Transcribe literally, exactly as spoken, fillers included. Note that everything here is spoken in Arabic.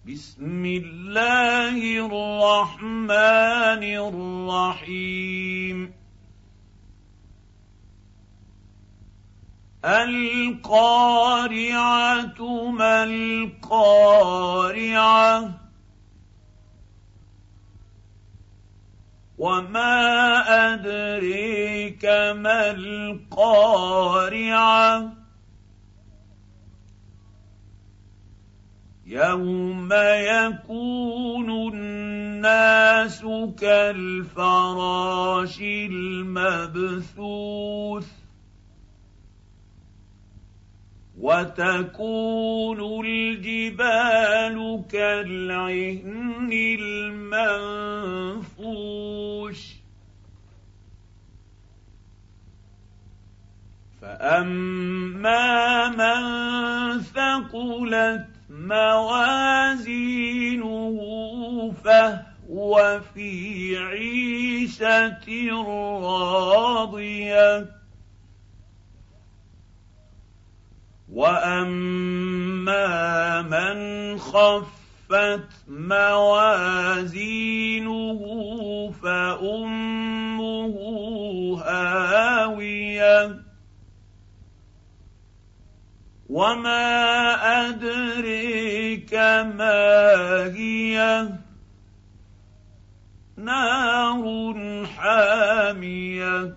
بسم الله الرحمن الرحيم القارعة ما القارعة وما أدريك ما القارعة يوم يكون الناس كالفراش المبثوث وتكون الجبال كالعهن المنفوش فأما من ثقلت موازينه فهو في عيشة راضية وأما من خفت موازينه فأمه هاوية وما أدريك ما هي نار حامية